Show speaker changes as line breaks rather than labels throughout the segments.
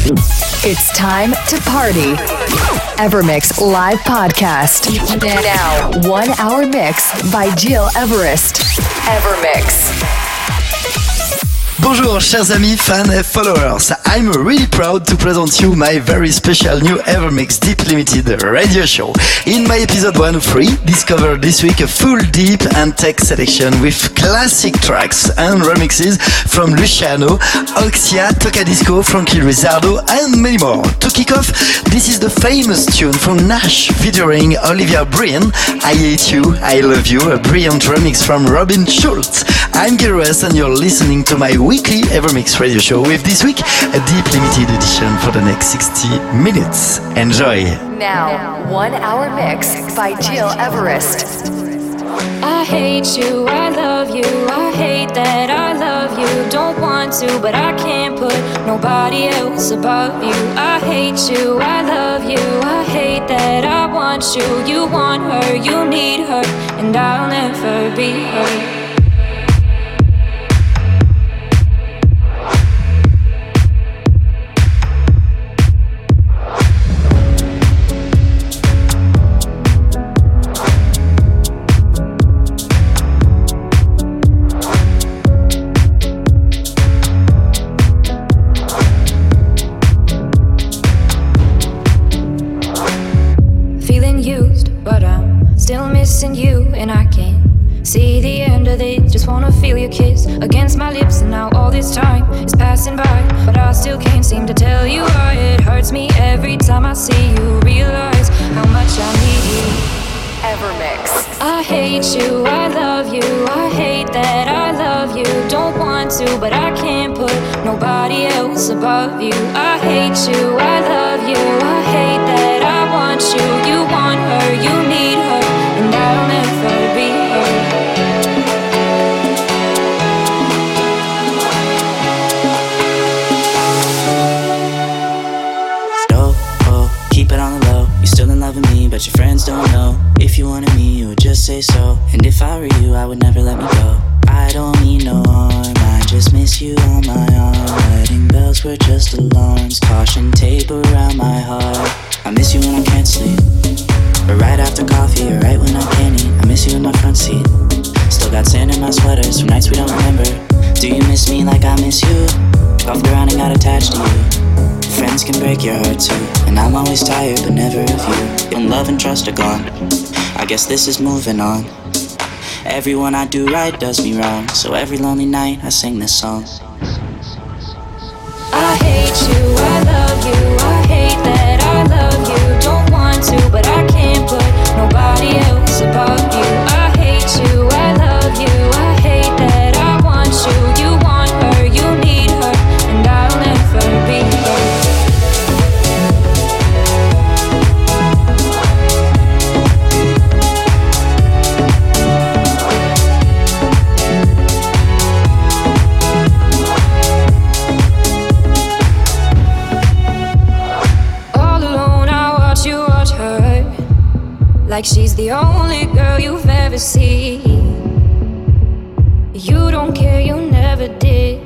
It's time to party. Evermix Live Podcast. Now, 1 hour mix by Gil Everest. Evermix.
Bonjour chers amis, fans and followers. I'm really proud to present you my very special new Evermix Deep Limited radio show. In my episode 103, discover this week a full deep and tech selection with classic tracks and remixes from Luciano, Oxia, Tocadisco, Frankie Rizzardo and many more. To kick off, this is the famous tune from Nash featuring Olivia Brian, I Hate You, I Love You, a brilliant remix from Robin Schulz. I'm Gil Everest and you're listening to my weekly Evermix radio show with this week a deep limited edition for the next 60 minutes. Enjoy!
Now, 1 hour mix by Gil Everest.
I hate you, I love you, I hate that I love you. Don't want to, but I can't put nobody else above you. I hate you, I love you, I hate that I want you. You want her, you need her, and I'll never be her. Missing you and I can't see the end of it. Just wanna feel your kiss against my lips, and now all this time is passing by, but I still can't seem to tell you why. It hurts me every time I see you, realize how much I need you.
Evermix.
I hate you, I love you, I hate that I love you. Don't want to, but I can't put nobody else above you. I hate you, I love you, I hate that I want you. You want her, you need her, and I'll never be her.
Keep it on the low, you're still in love with me, but your friends don't know. If you wanted me, you would just say so. And if I were you, I would never let me go. I don't mean no harm, I just miss you on my arm. Wedding bells were just alarms, caution tape around my heart. I miss you when I can't sleep, or right after coffee, or right when I can't eat. I miss you in my front seat, still got sand in my sweaters from nights we don't remember. Do you miss me like I miss you? Golfed around and got attached to you. Friends can break your heart too, and I'm always tired but never of you. When love and trust are gone, I guess this is moving on. Everyone I do right does me wrong, so every lonely night I sing this song.
I hate you, I love you, I hate that I love you. Don't want to, but I can't put nobody else above you. I hate you, I love you, I hate that I want you. You want her, you need her, and I'll never be her. Like she's the only girl you've ever seen. You don't care, you never did.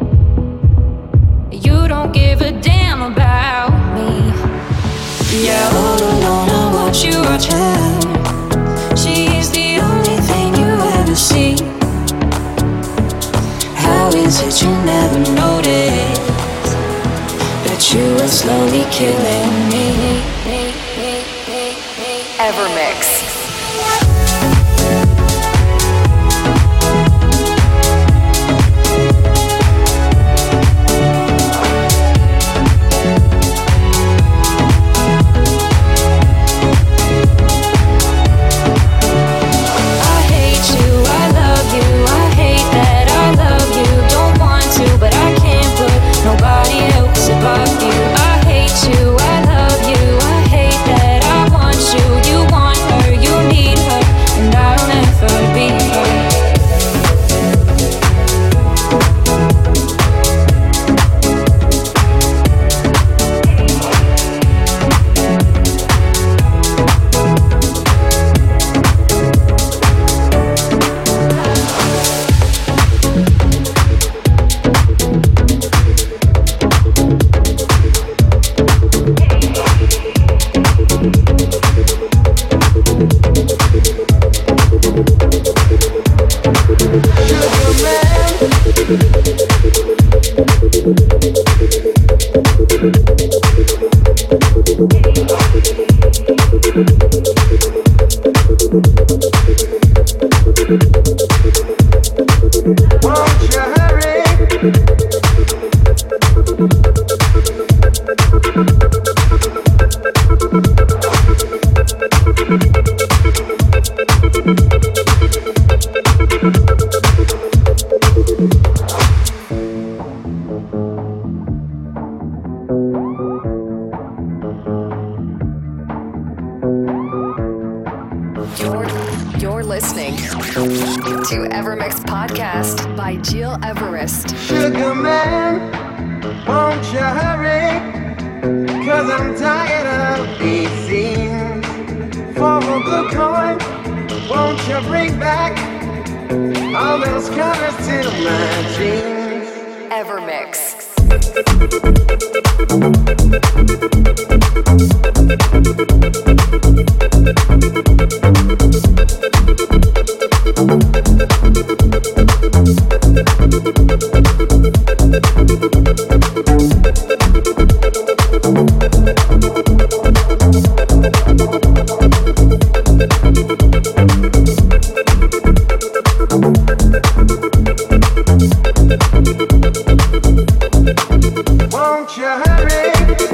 You don't give a damn about me. Yeah, all alone I watch you watch her. She is the only thing you ever see. How is it you never noticed that you are slowly killing me?
Evermix.
Nobody else above you. I hate you, I love you, I hate that I want you. You want her,
You're listening to Evermix Podcast by Gil Everest.
Sugar man, won't you hurry? 'Cause I'm tired of these scenes. For a good coin, won't you bring back all those colors to my jeans?
Evermix.
Won't you hurry?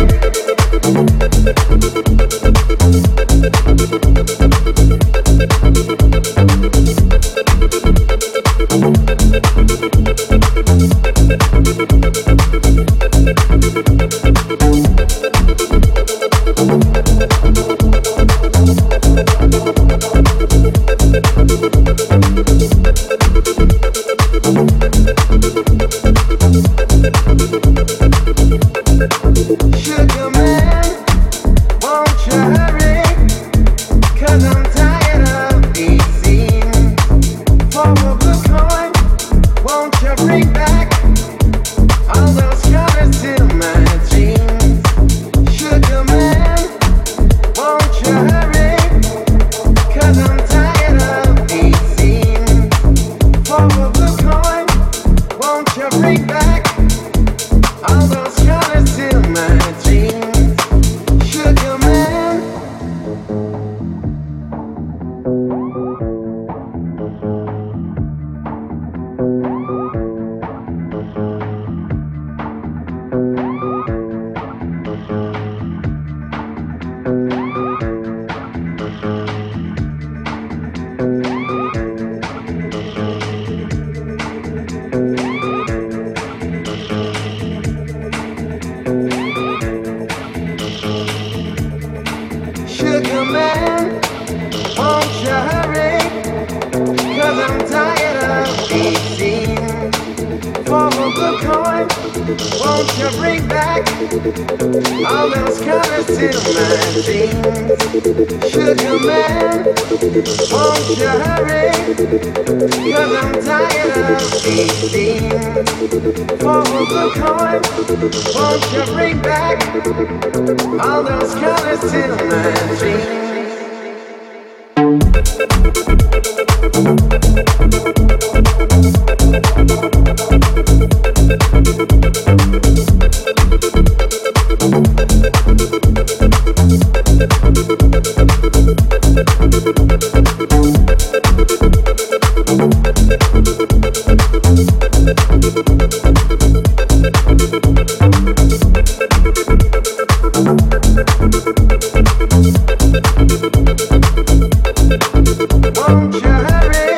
Sugar man, won't you hurry? 'Cause I'm tired of these scenes. For a good coin, won't you bring back all those colors to my jeans? Sugar man, won't you hurry? 'Cause I'm tired of these scenes. For a good coin, won't you bring back all those colors to my jeans? Sugar man. Sugar man, won't you hurry? 'Cause I'm tired of these scenes. For a good coin, won't you bring back all those colors to my jeans? Sugar man, won't you hurry? 'Cause I'm tired of these scenes. For a good coin, won't you bring back all those colors to my jeans? Won't you hurry?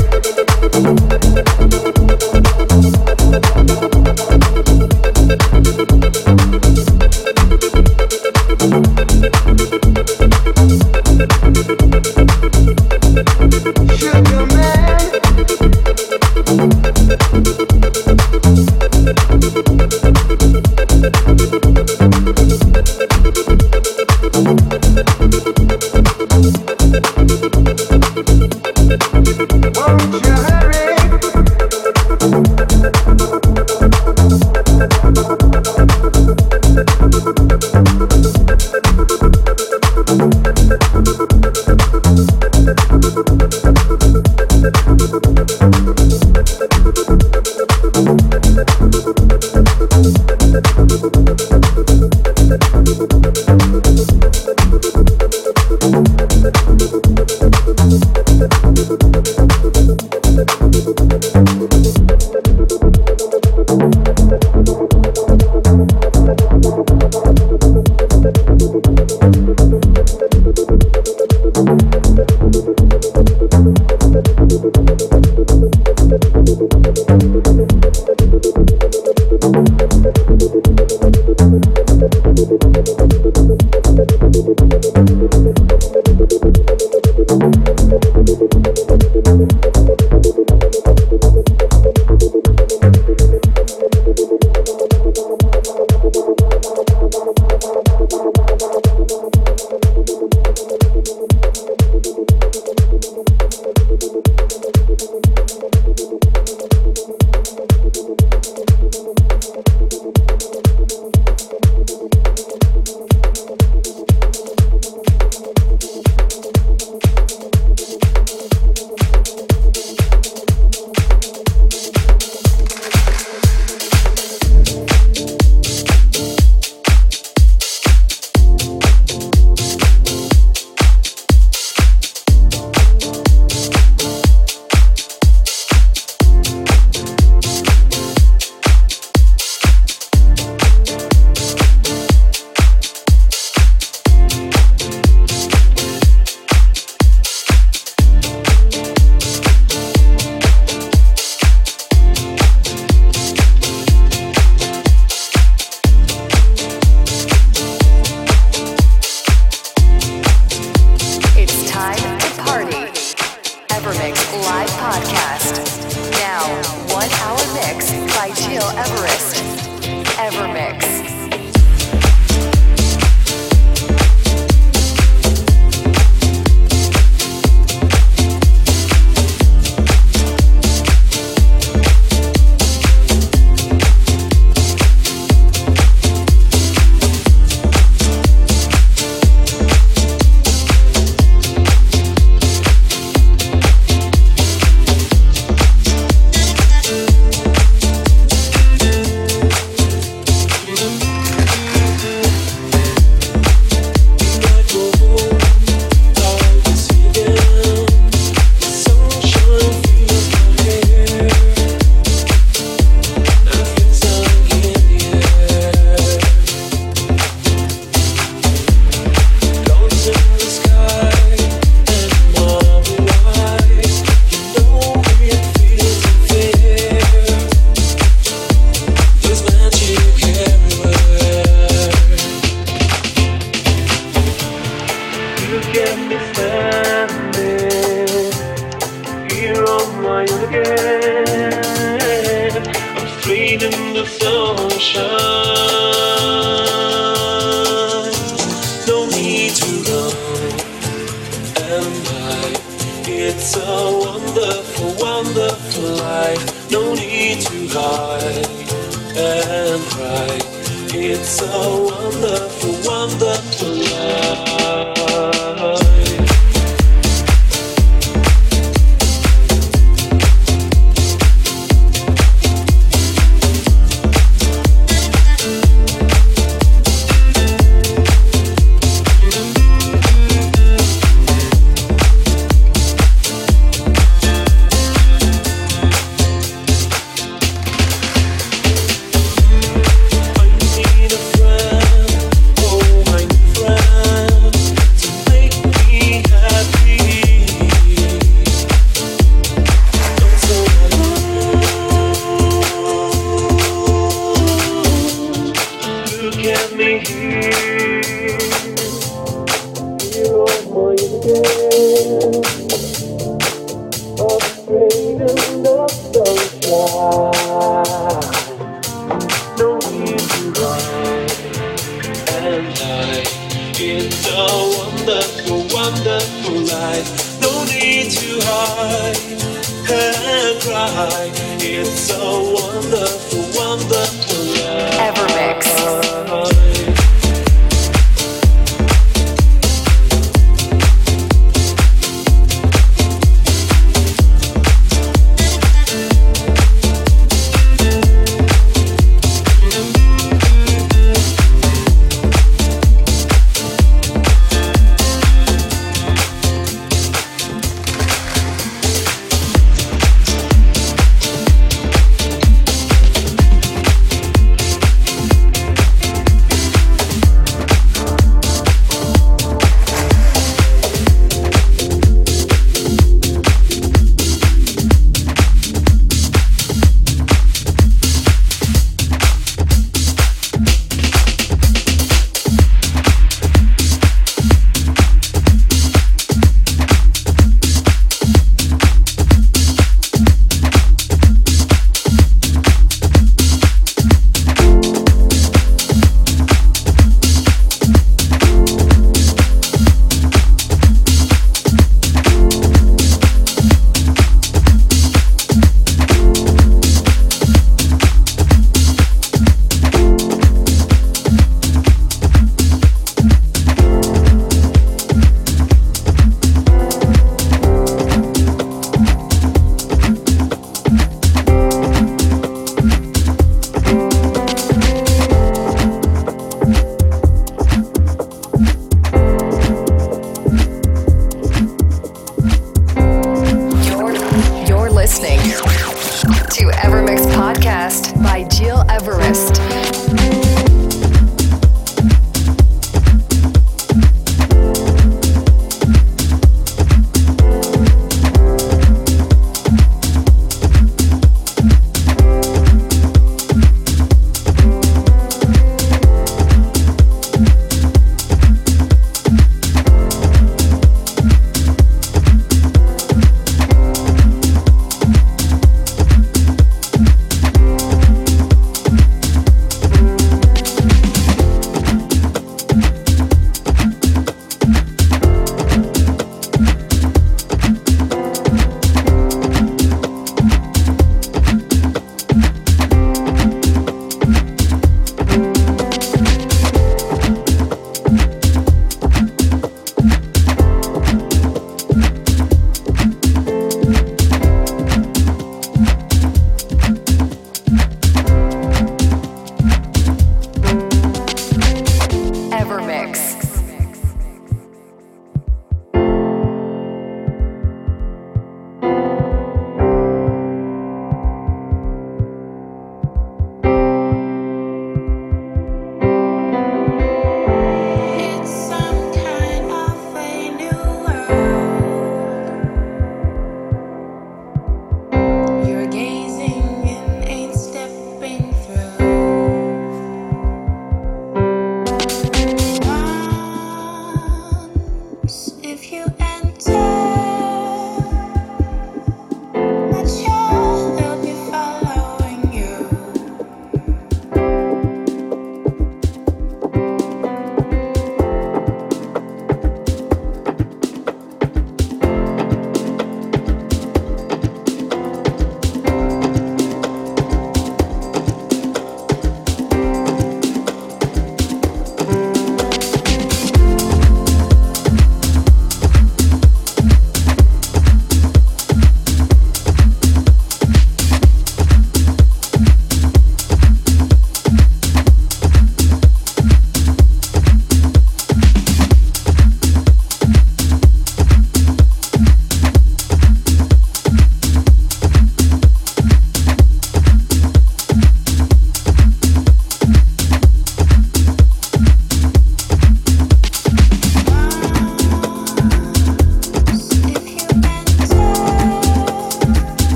Sugar man. Won't you hurry?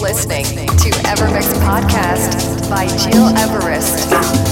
listening to Evermix Podcast by Jill Everest.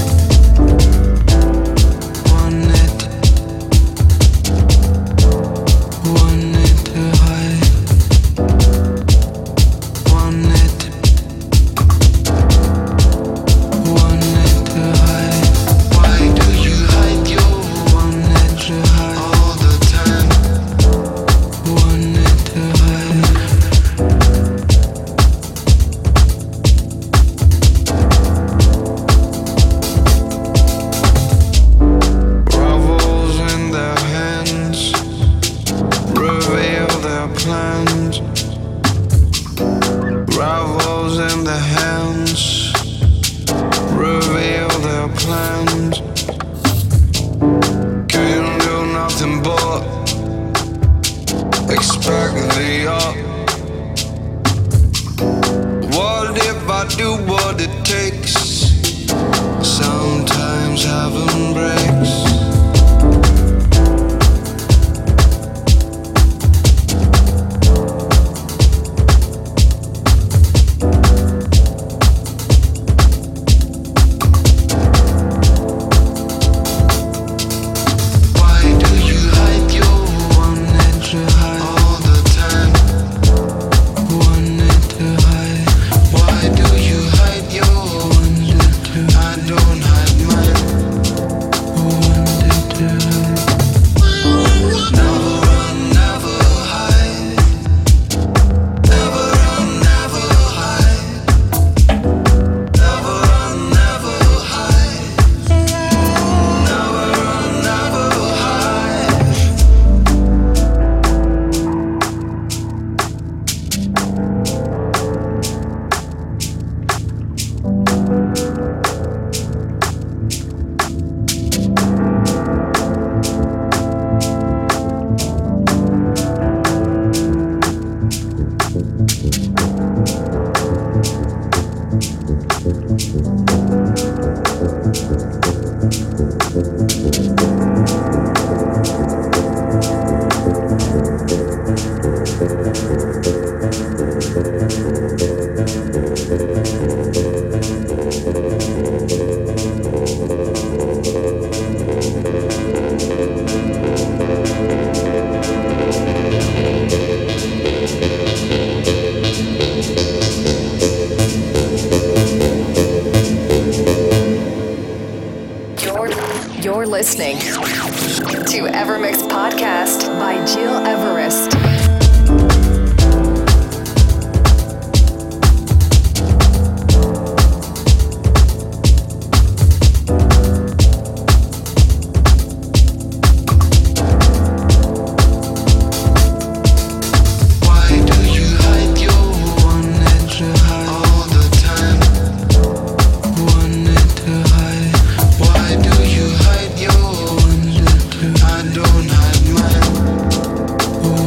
Listening to Evermix Podcast by Jill Everest.
I don't hide mine.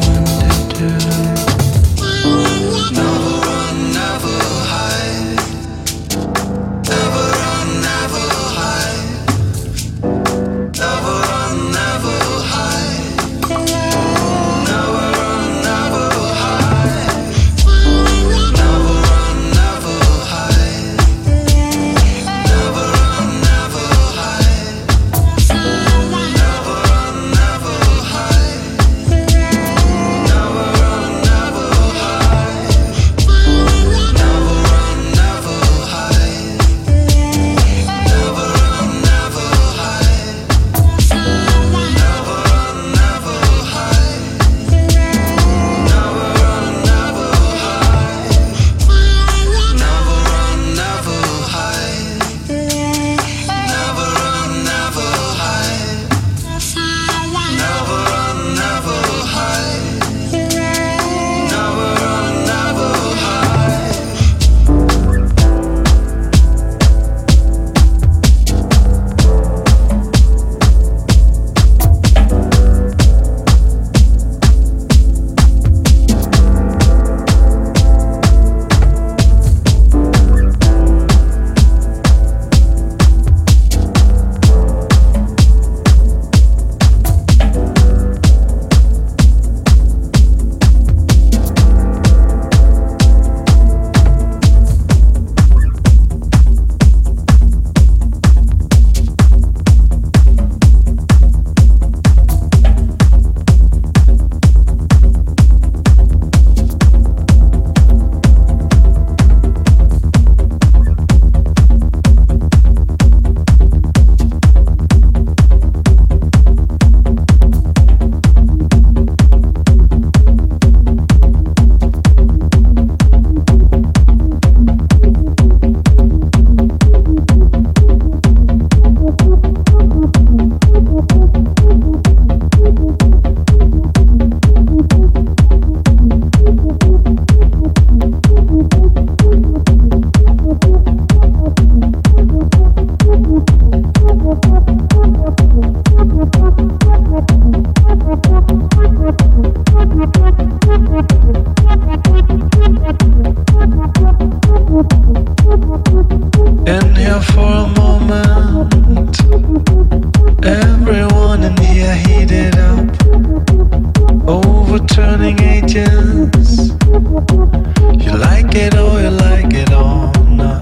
turning ages. You like it or you like it or not.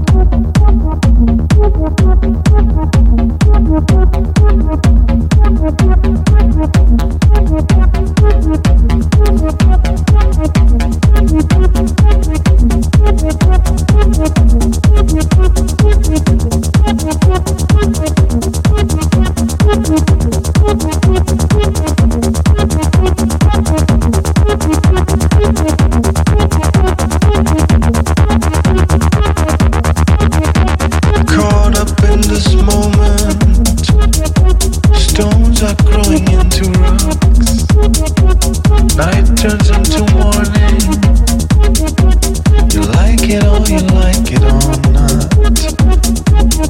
Caught up in this moment, stones are growing into rocks. Night turns into morning. You like it or you like it or not.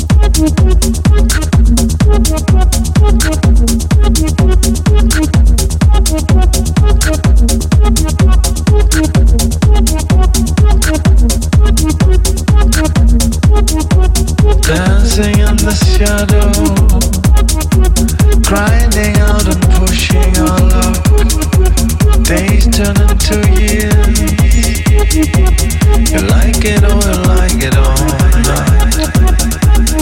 Dancing in the shadow, grinding out and pushing our luck. Days turn into years. You like it or you like it or not.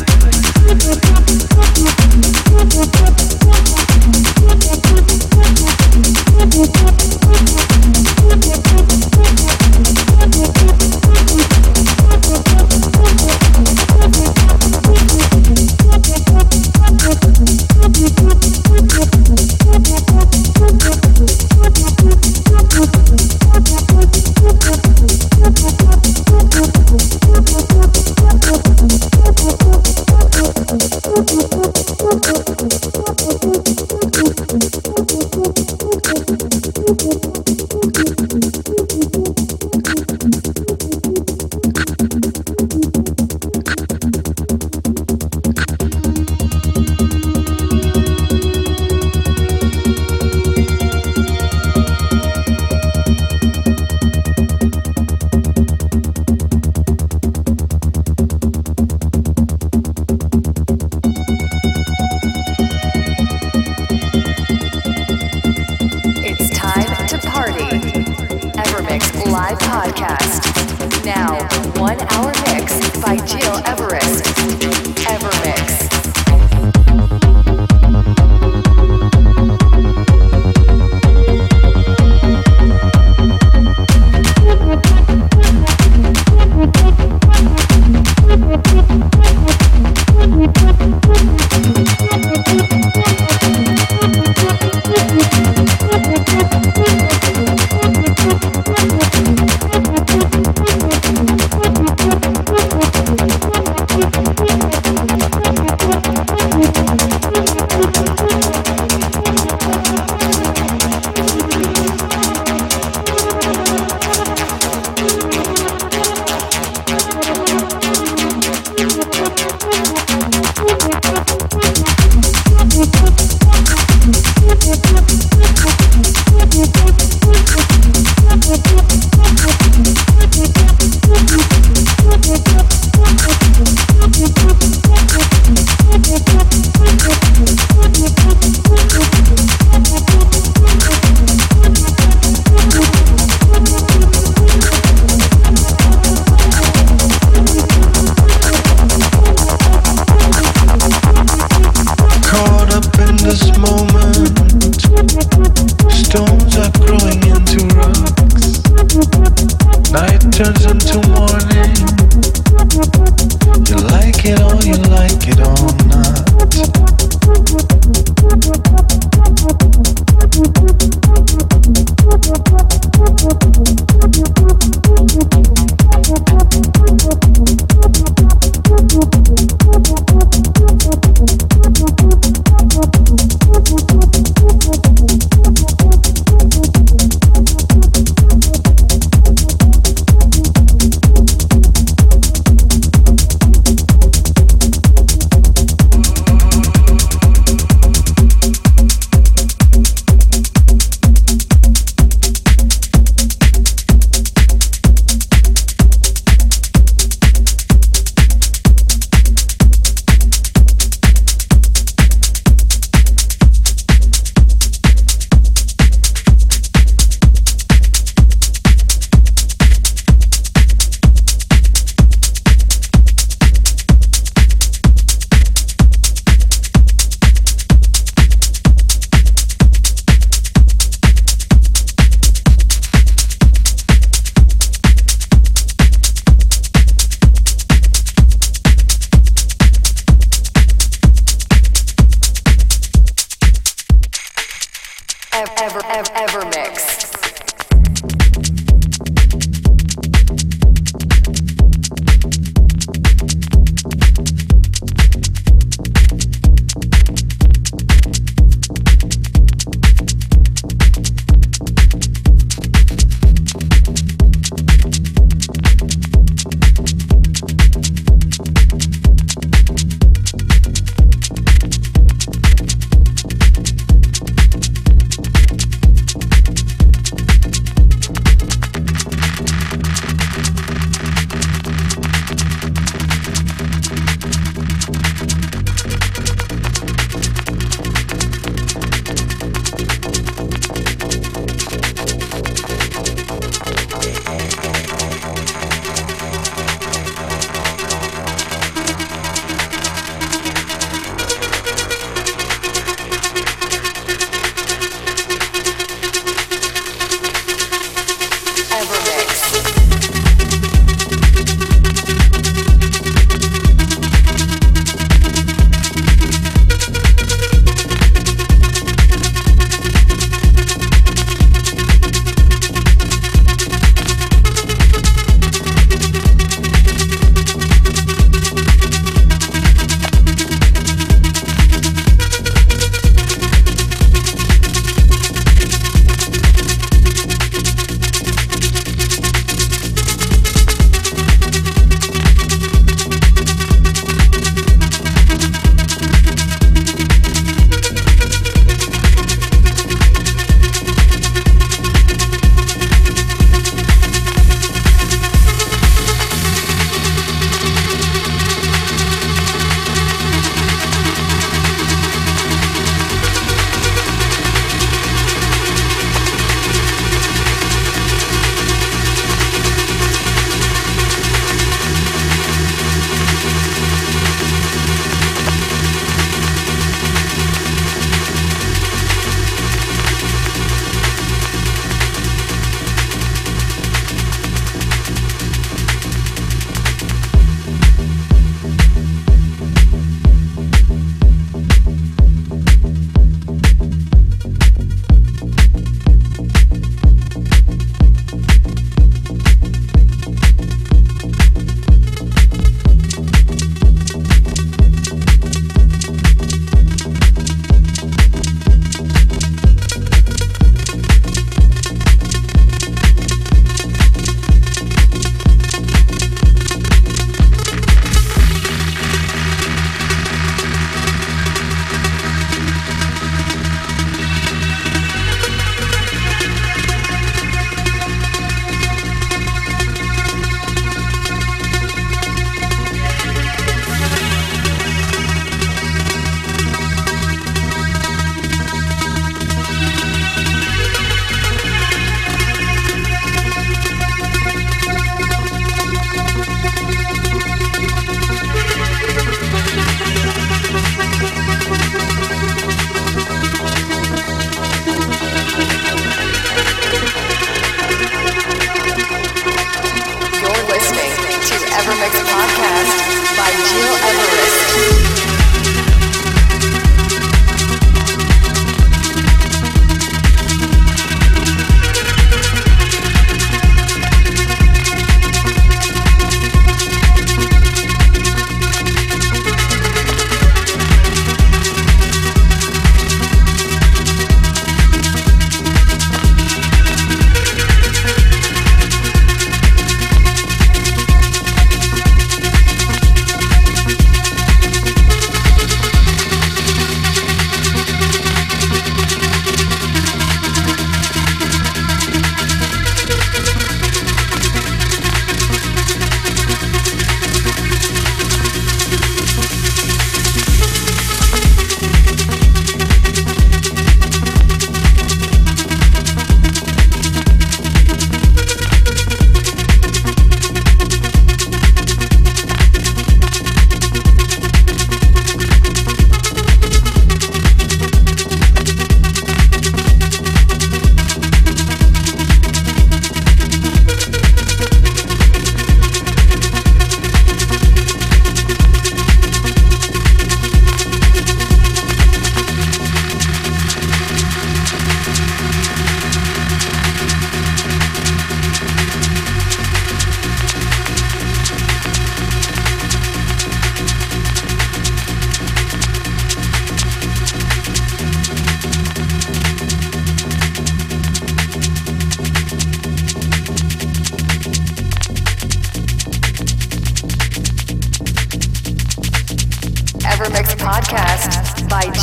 Live podcast. Now, 1 hour mix by Gil Everest. Evermix.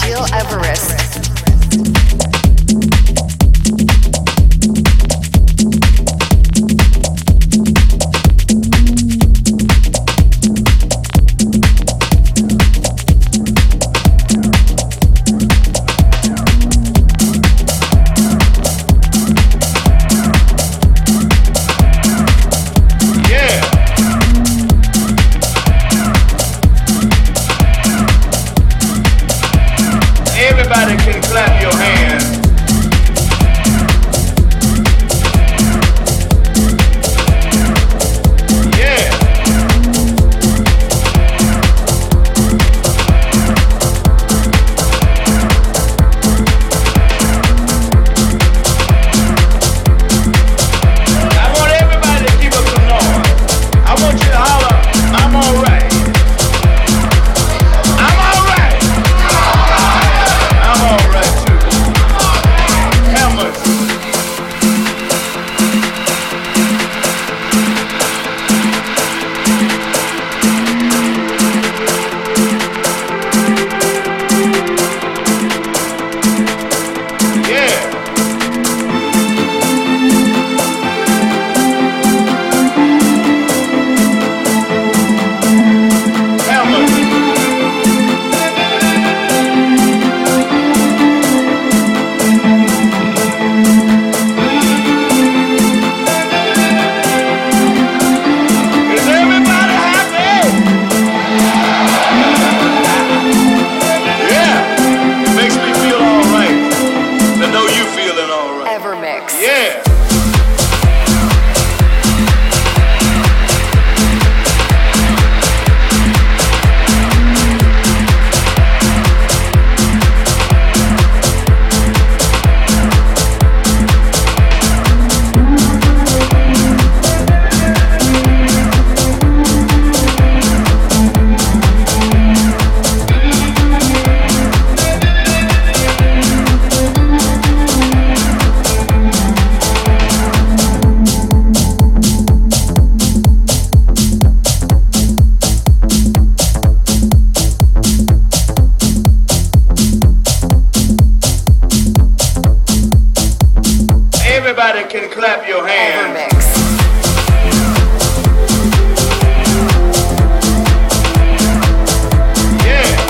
Jill Everest.
Everybody can clap your hands. Yeah. I want everybody to keep up some noise. I want you to holler, I'm alright. I'm alright. I'm alright too. Hammers. Yeah. Hammers. Is everybody happy? Yeah. It makes me feel alright to know you feeling alright.
Evermix.
Yeah. Everybody can clap your hands.
Evermix.
Yeah.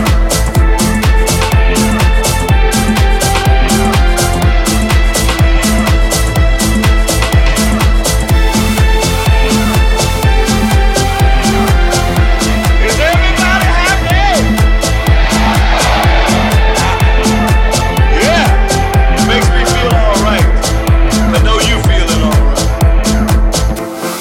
Is everybody happy? Yeah. It makes me feel alright. I know you feeling alright.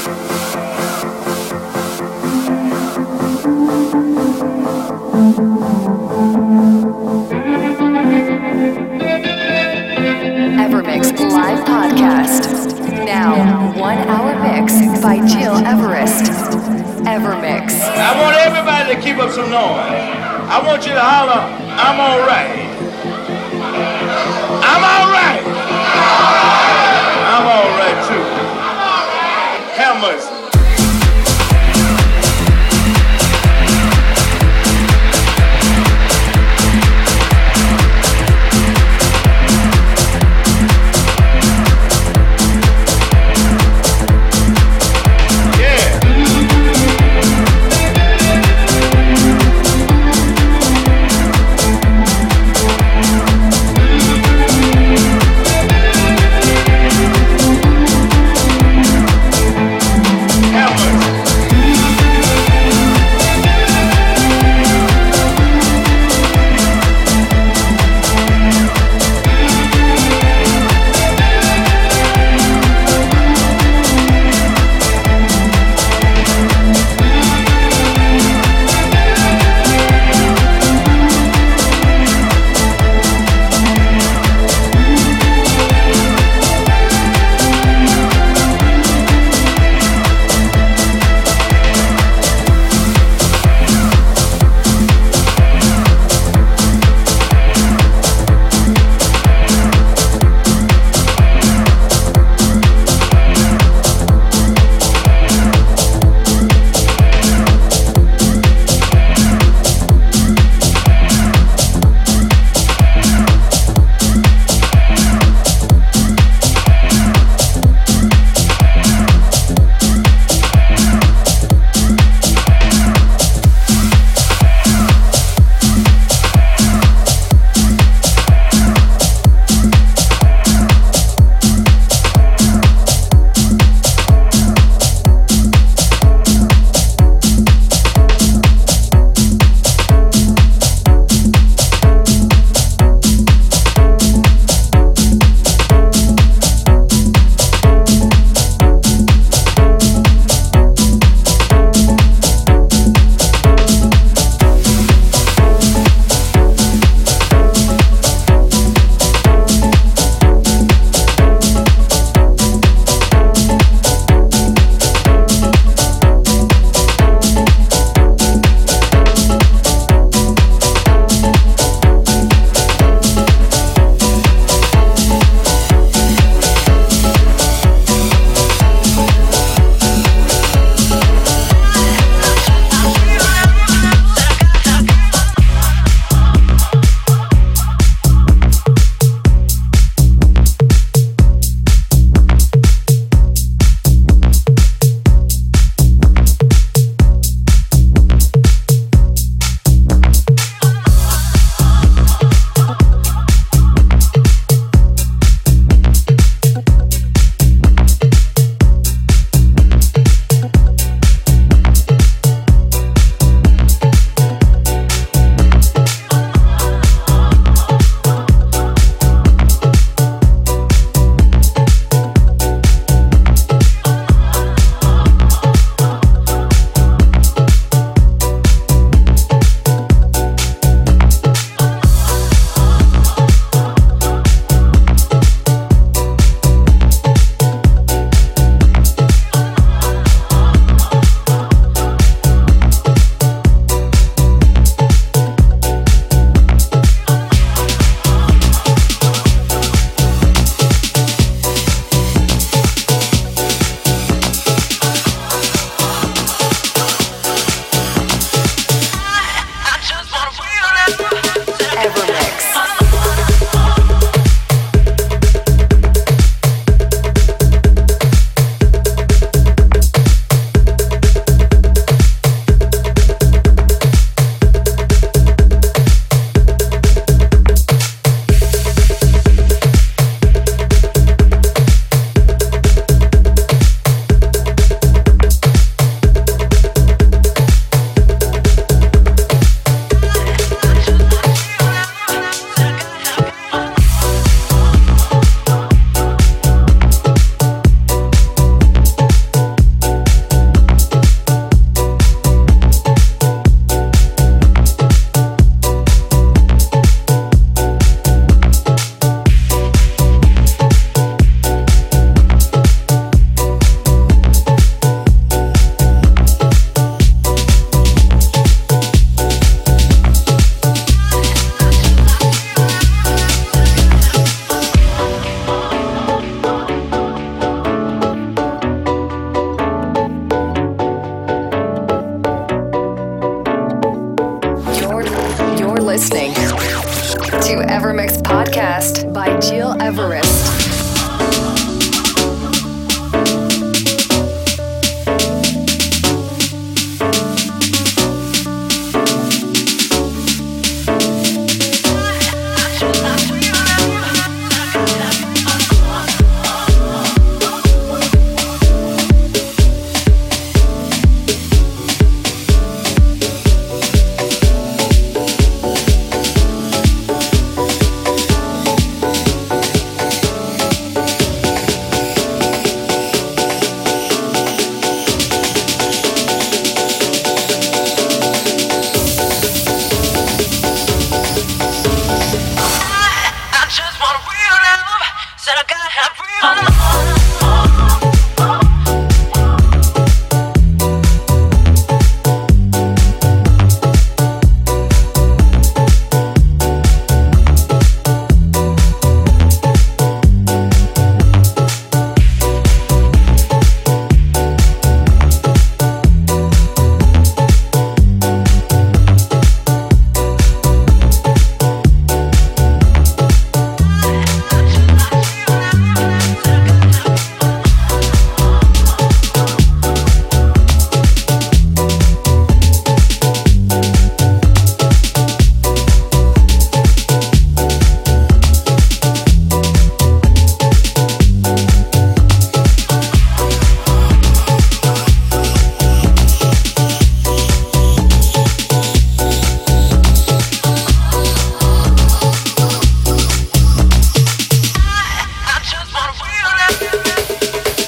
Evermix live podcast. Now, 1 hour mix by Jill Everest. Evermix.
I want everybody to keep up some noise. I want you to holler, I'm alright. I'm alright. I'm alright too. Hammers. Yeah.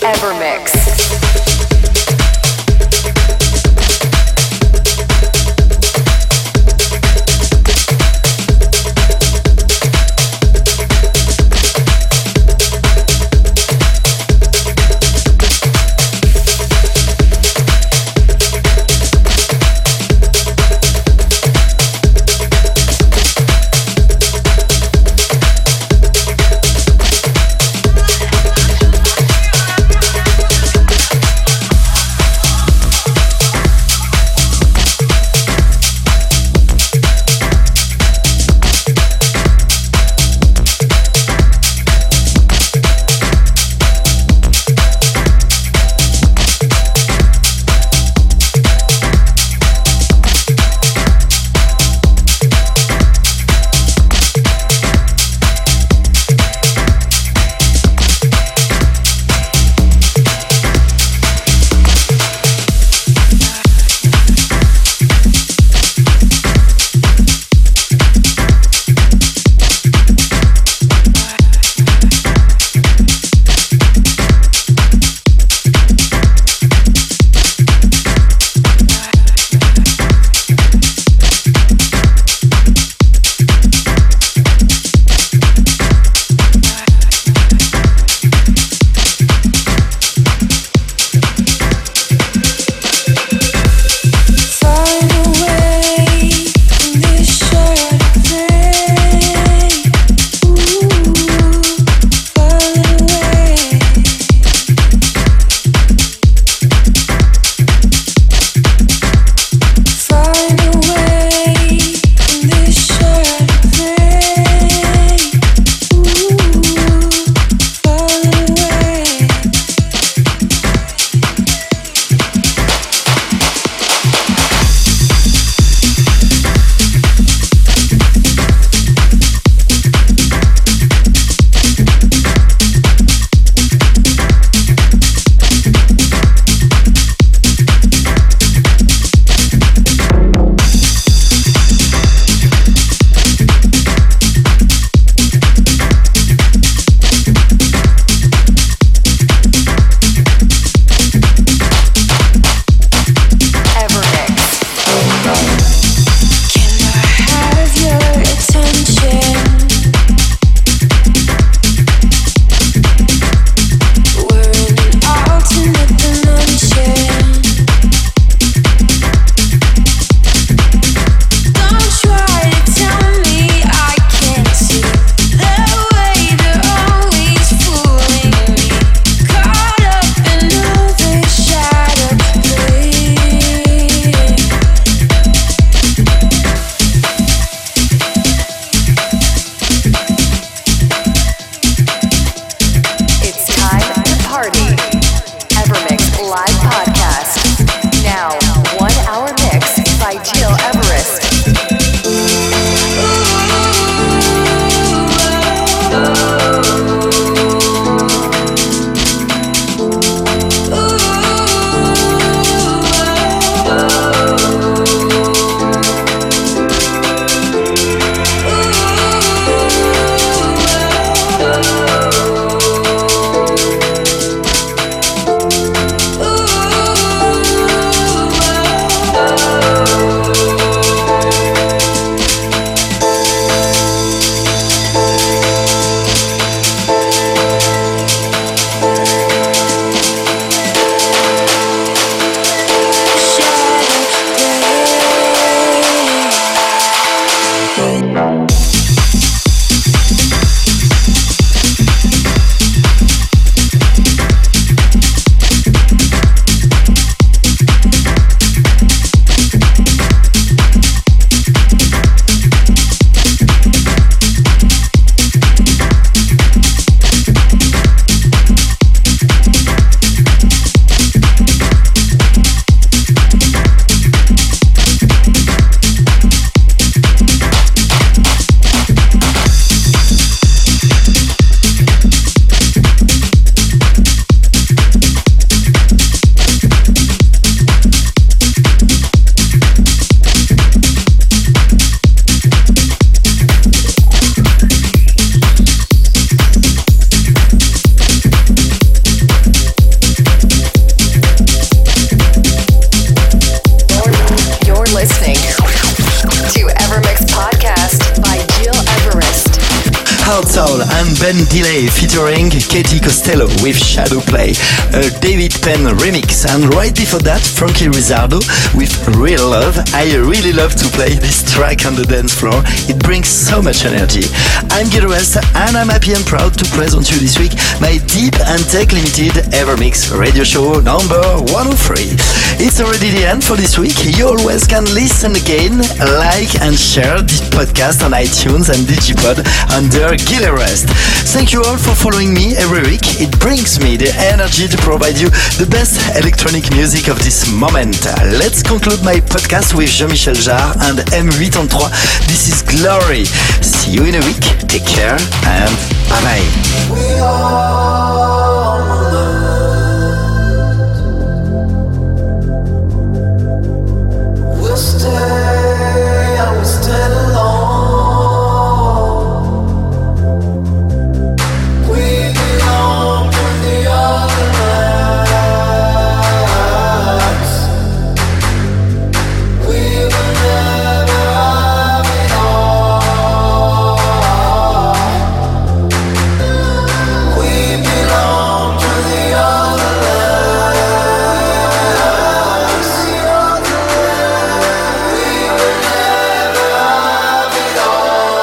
Evermix.
Hard Soul and Ben Delay featuring Katie Costello with Shadow Play, a David Penn remix, and right before that Frankie Rizzardo with Real Love. I really love to play this track on the dance floor, it brings so much energy. I'm Gil Everest and I'm happy and proud to present you this week my Deep and Tech Limited Evermix radio show number 103. It's already the end for this week. You always can listen again, like and share this podcast on iTunes and Digipod under Gil Everest. Thank you all for following me every week. It brings me the energy to provide you the best electronic music of this moment. Let's conclude my podcast with Jean-Michel Jarre and M83. This is Glory. See you in a week. Take care and bye-bye.
We all learned. We'll stay, I will stand alone. We belong to the other lands. We will never have it all. We belong to the other lands. We will never have it all.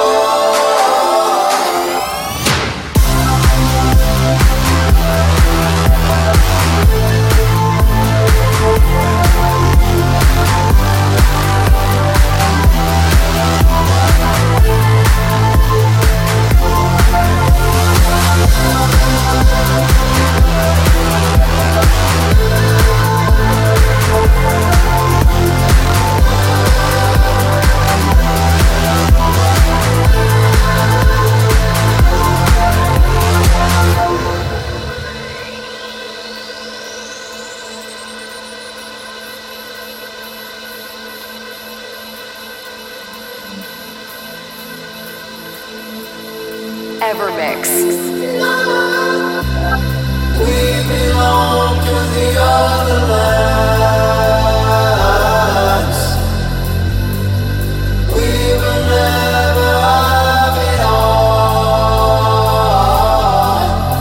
Evermix.
We belong to the other lands. We will never have it all.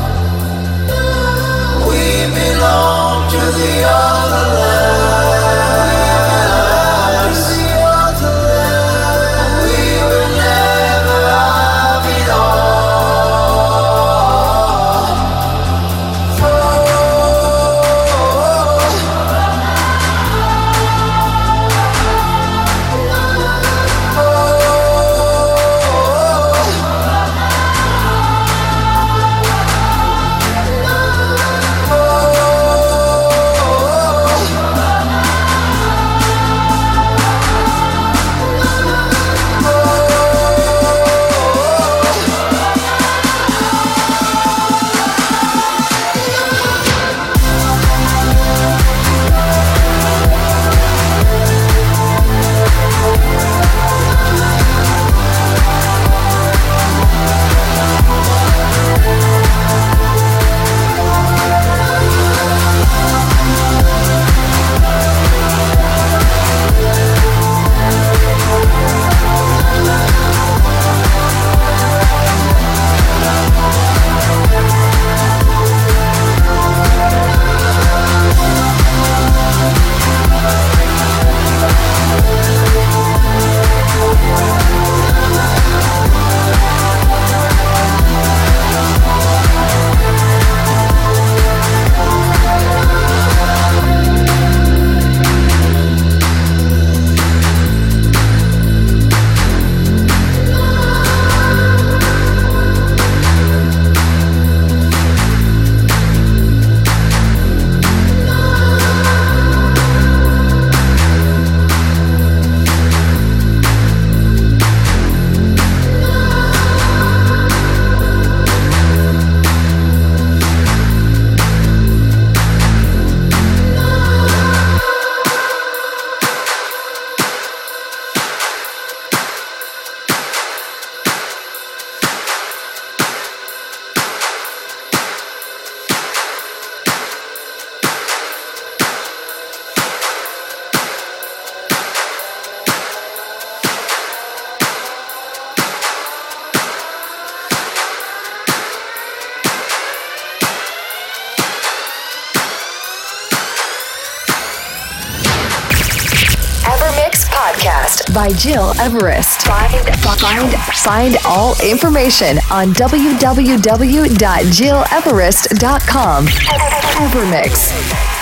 We belong to the other lands. We will never have it all.
podcast by Gil Everest. Find all information on www.gileverest.com. Evermix.